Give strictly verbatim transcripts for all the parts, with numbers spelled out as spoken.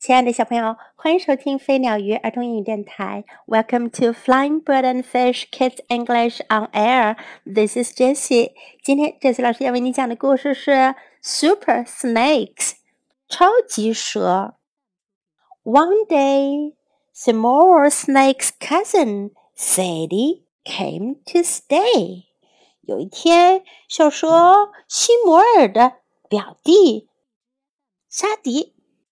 亲爱的小朋友，欢迎收听飞鸟鱼儿童英语电台。Welcome to Flying Bird and Fish Kids English on Air. This is Jessie. 今天 Jessie 老师要为你讲的故事是 Super Snakes 超级蛇。One day, Seymour Snake's cousin Sadie came to stay. 有一天，小蛇西摩尔的表弟沙迪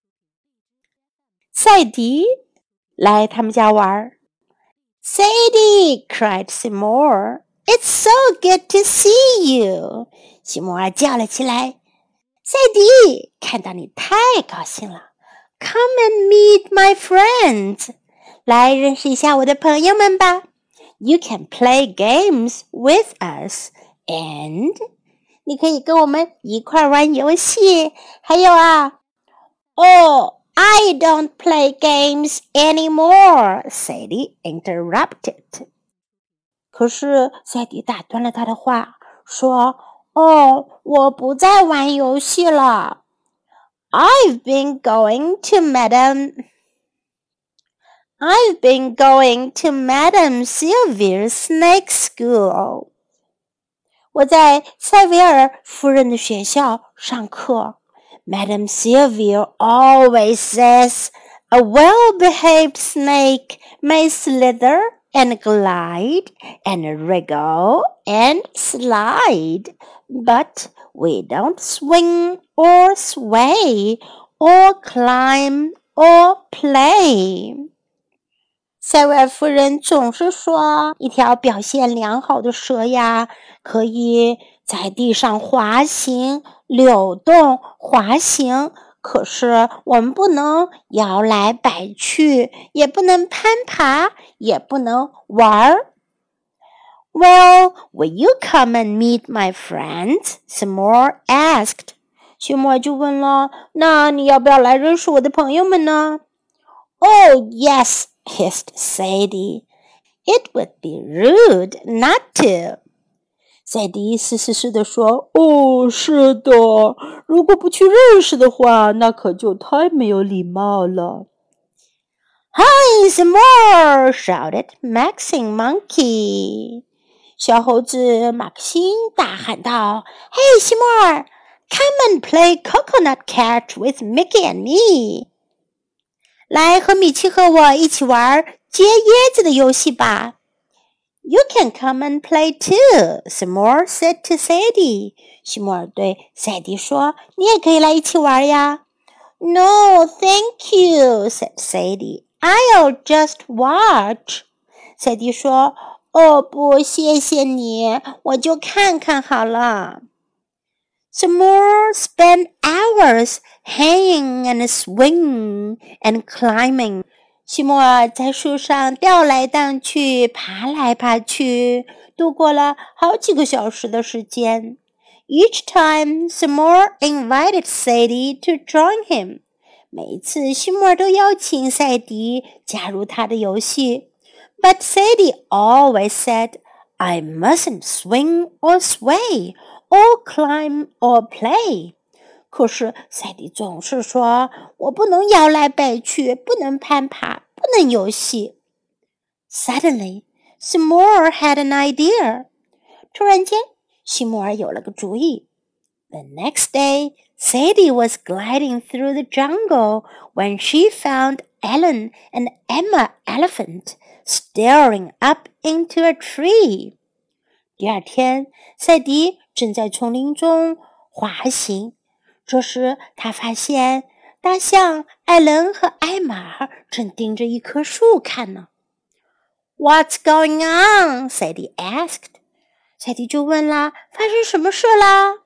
赛迪来他们家玩。Sadie, cried Seymour, it's so good to see you. 西摩尔叫了起来，赛迪，看到你太高兴了。Come and meet my friends. 来认识一下我的朋友们吧。You can play games with us. And 你可以跟我们一块玩游戏。还有啊，哦。I don't play games anymore, Sadie interrupted. 可是赛迪打断了他的话，说，哦，我不再玩游戏了。I've been going to Madam I've been going to Madam Sylvia's snake school. 我在塞维尔夫人的学校上课。Madam Sylvia always says a well-behaved snake may slither and glide and wriggle and slide, but we don't swing or sway or climb or play. 塞维尔夫人总是说，一条表现良好的蛇呀，可以在地上滑行、扭动、滑行，可是我们不能摇来摆去，也不能攀爬，也不能玩。Well, will you come and meet my friends? Seymour asked. 西摩就问了，那你要不要来认识我的朋友们呢？ Oh, yes, hissed Sadie. It would be rude not to. 赛迪嘶嘶嘶地说，哦，是的，如果不去认识的话，那可就太没有礼貌了。Hi, Seymour, shouted Maxine Monkey. 小猴子马克辛大喊道，嘿，西摩尔 ，Come and play coconut catch with Mickey and me. 来和米奇和我一起玩接椰子的游戏吧。You can come and play too, Seymour said to Sadie. 西摩尔对赛迪说，你也可以来一起玩呀。No, thank you, said Sadie. I'll just watch. 赛迪说，哦不，谢谢你，我就看看好了。Seymour spent hours hanging and swinging and climbing. 西摩尔在树上吊来荡去，爬来爬去，度过了好几个小时的时间。Each time, Seymour invited Sadie to join him. 每一次，西摩尔都邀请赛迪加入他的游戏。But Sadie always said, I mustn't swing or sway, or climb or play. 可是赛迪总是说，我不能摇来摆去，不能攀爬，不能游戏。Suddenly, Seymour had an idea. 突然间，西摩尔有了个主意。The next day, Sadie was gliding through the jungle when she found Ellen and Emma Elephant staring up into a tree. 第二天，赛迪正在丛林中滑行。这时，他发现大象艾伦和艾玛正盯着一棵树看呢。What's going on? Sadie asked. 赛迪就问啦，发生什么事啦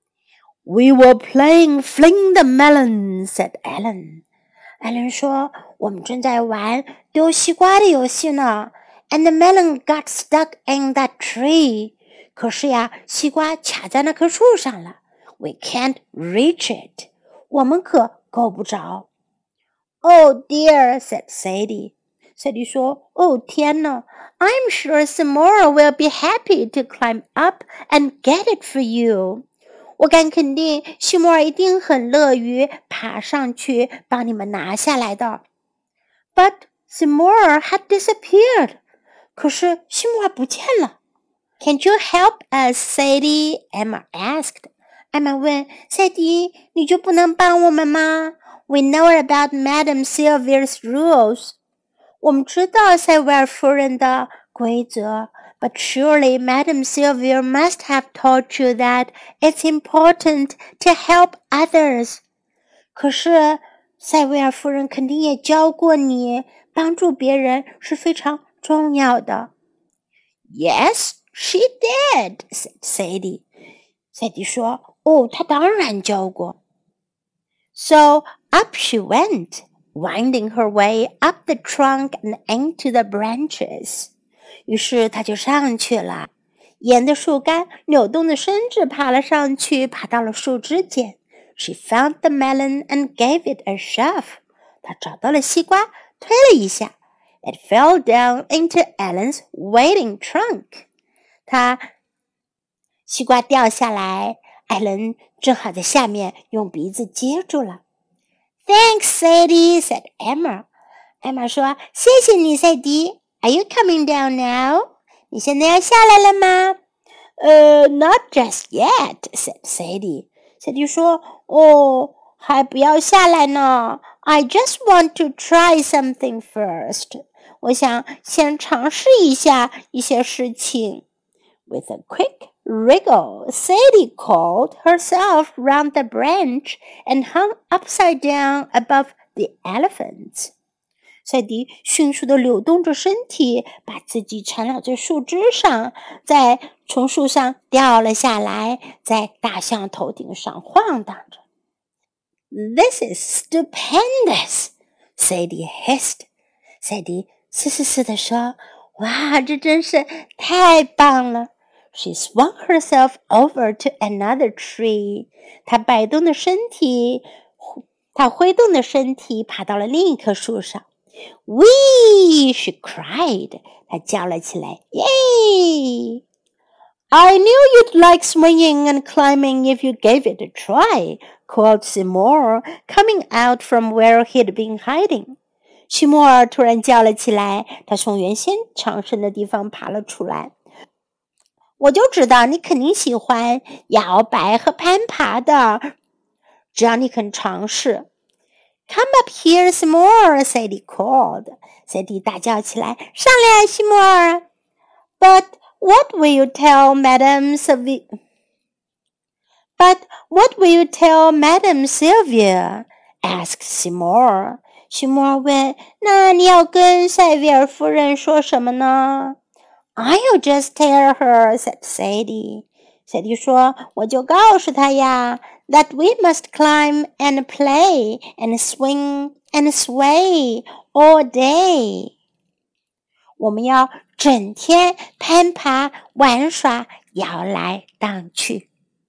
？We were playing Fling the Melon, said Ellen. 艾伦说，我们正在玩丢西瓜的游戏呢。And the melon got stuck in that tree. 可是呀，西瓜卡在那棵树上了。We can't reach it. 我们可够不着。Oh dear, said Sadie. Sadie 说，哦天哪 I'm sure Seymour will be happy to climb up and get it for you. 我敢肯定，西摩尔一定很乐于爬上去帮你们拿下来的。But Seymour had disappeared. 可是西摩尔不见了。Can't you help us, Sadie? Emma asked. 艾玛问赛迪，你就不能帮我们吗？ We know about Madame Sylvia's rules. 我们知道塞维尔夫人的规则。But surely Madame Sylvia must have taught you that it's important to help others. 可是塞维尔夫人肯定也教过你，帮助别人是非常重要的。Yes, she did, said Sadie. 赛迪说，哦，她当然教过。So up she went, winding her way up the trunk and into the branches.于是他就上去了，沿着树干扭动的身子爬了上去，爬到了树枝间。She found the melon and gave it a shove. 她找到了西瓜，推了一下。It fell down into Ellen's waiting trunk. 她西瓜掉下来，艾伦正好在下面用鼻子接住了。Thanks, Sadie, said Emma. 艾玛说：“谢谢你，赛迪。Are you coming down now? 你现在要下来了吗？” Uh, not just yet, said Sadie. Sadie 说：“哦，还不要下来呢。I just want to try something first. 我想先尝试一下一些事情。” With a quick wriggle, Sadie coiled herself round the branch and hung upside down above the elephants.赛迪迅速地扭动着身体，把自己缠绕在树枝上，再从树上掉了下来，在大象头顶上晃荡着。This is stupendous, Sadie hissed. 赛迪嘶嘶嘶地说：“哇，这真是太棒了！” She swung herself over to another tree. 她摆动的身体，她挥动的身体爬到了另一棵树上。Whee! She cried. 她叫了起来。Yay! I knew you'd like swinging and climbing if you gave it a try, called Seymour, coming out from where he'd been hiding. 西摩尔突然叫了起来，他从原先藏身的地方爬了出来。我就知道你肯定喜欢摇摆和攀爬的，只要你肯尝试。Come up here, Seymour, Sadie called. Sadie 大叫起来，上来，西摩尔。But what will you tell Madame Sylvia? But what will you tell Madame Sylvia? Asked Seymour. 西摩尔问，那你要跟塞维尔夫人说什么呢？ I'll just tell her, said Sadie. Sadie 说，我就告诉她呀。That we must climb and play and swing and sway all day. 我们要整天攀爬、玩耍、摇来荡去。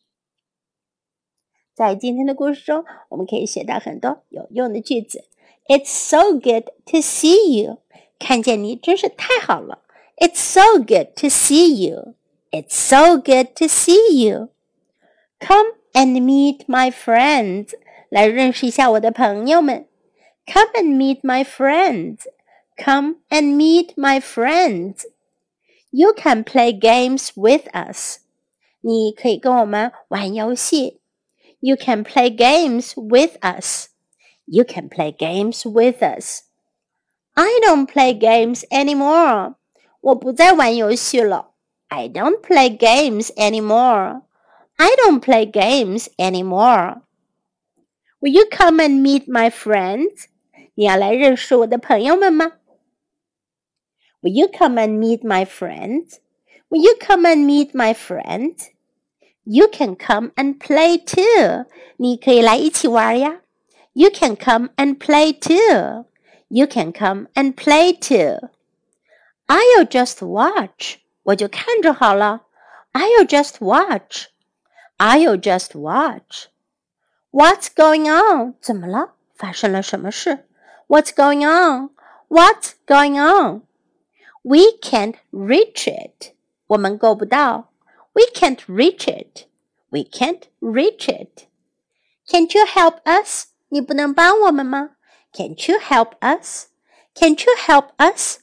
在今天的故事中，我们可以学到很多有用的句子。It's so good to see you. 看见你真是太好了。It's so good to see you. It's so good to see you. Come and meet my friends. 来认识一下我的朋友们。Come and meet my friends. Come and meet my friends. You can play games with us. 你可以跟我们玩游戏。You can play games with us. You can play games with us. I don't play games anymore. 我不再玩游戏了。I don't play games anymore.I don't play games anymore. Will you come and meet my friends? 你要来认识我的朋友们吗？ Will you come and meet my friends? Will you come and meet my friends? You can come and play too. 你可以来一起玩呀。You can come and play too. You can come and play too. I'll just watch. 我就看着好了。I'll just watch.I'll just watch. What's going on? 怎么了？发生了什么事？ What's going on? What's going on? We can't reach it. 我们够不到。We can't reach it. We can't reach it. Can't you help us? 你不能帮我们吗？ Can't you help us? Can't you help us?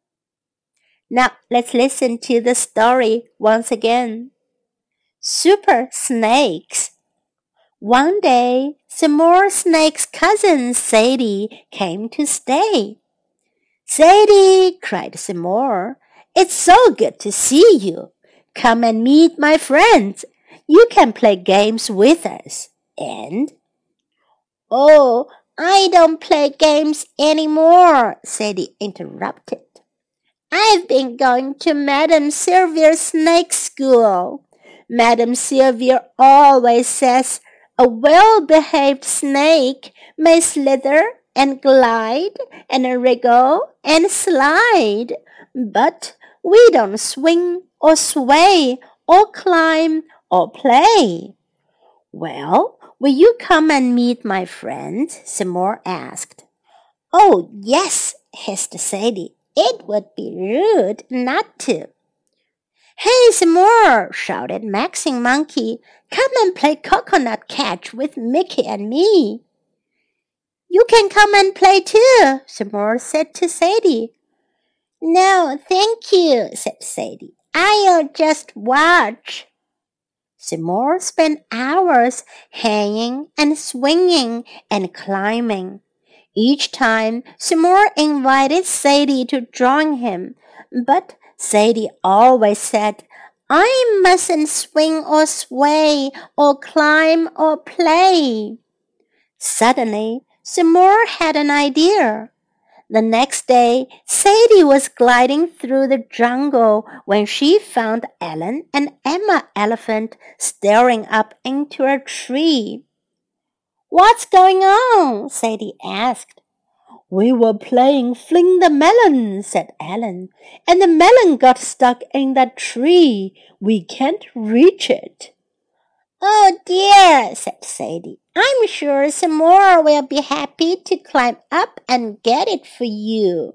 Now let's listen to the story once again. Super Snakes. One day, Seymour Snake's cousin Sadie came to stay. Sadie, cried Seymour, it's so good to see you. Come and meet my friends. You can play games with us. And, oh, I don't play games anymore, Sadie interrupted. I've been going to Madame Sylvia's snake school. Madame Sylvia always says a well-behaved snake may slither and glide and wriggle and slide, but we don't swing or sway or climb or play. Well, will you come and meet my friends? Seymour asked. Oh, yes, hissed Sadie. It would be rude not to. Hey, Seymour, shouted Maxine Monkey. Come and play coconut catch with Mickey and me. You can come and play too, Seymour said to Sadie. No, thank you, said Sadie. I'll just watch. Seymour spent hours hanging and swinging and climbing. Each time, Seymour invited Sadie to join him, but Sadie always said, I mustn't swing or sway or climb or play. Suddenly, Seymour had an idea. The next day, Sadie was gliding through the jungle when she found Ellen and Emma Elephant staring up into a tree. What's going on? Sadie asked. We were playing Fling the Melon, said Ellen, and the melon got stuck in that tree. We can't reach it. Oh dear, said Sadie. I'm sure Seymour will be happy to climb up and get it for you.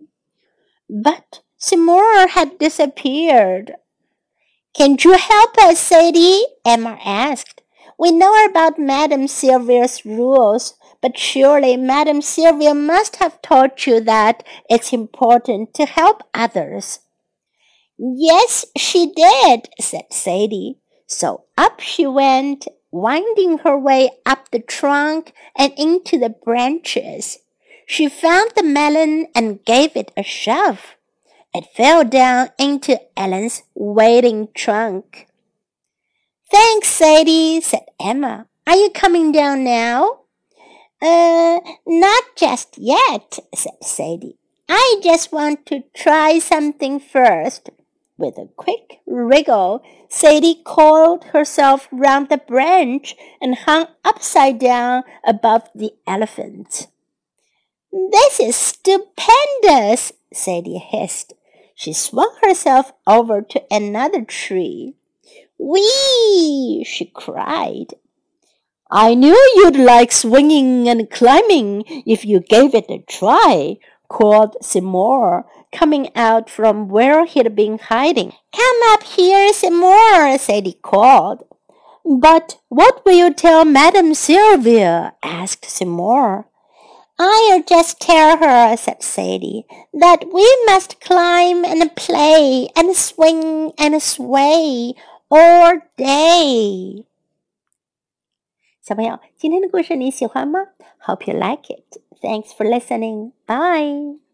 But Seymour had disappeared. Can't you help us, Sadie? Emma asked. We know about Madame Sylvia's rules, but surely Madame Sylvia must have taught you that it's important to help others. Yes, she did, said Sadie. So up she went, winding her way up the trunk and into the branches. She found the melon and gave it a shove. It fell down into Ellen's waiting trunk. Thanks, Sadie, said Emma. Are you coming down now? Uh, not just yet, said Sadie. I just want to try something first. With a quick wriggle, Sadie coiled herself round the branch and hung upside down above the elephant. This is stupendous, Sadie hissed. She swung herself over to another tree. Whee! She cried. I knew you'd like swinging and climbing if you gave it a try, called Seymour, coming out from where he'd been hiding. Come up here, Seymour, Sadie called. But what will you tell Madame Sylvia? Asked Seymour. I'll just tell her, said Sadie, that we must climb and play and swing and sway all day. 小朋友，今天的故事你喜欢吗？ Hope you like it. Thanks for listening. Bye.